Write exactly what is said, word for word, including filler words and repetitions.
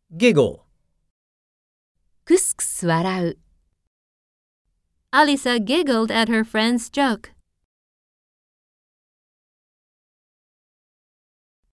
giggle, くすくす笑う。Alisa giggled at her friend's joke.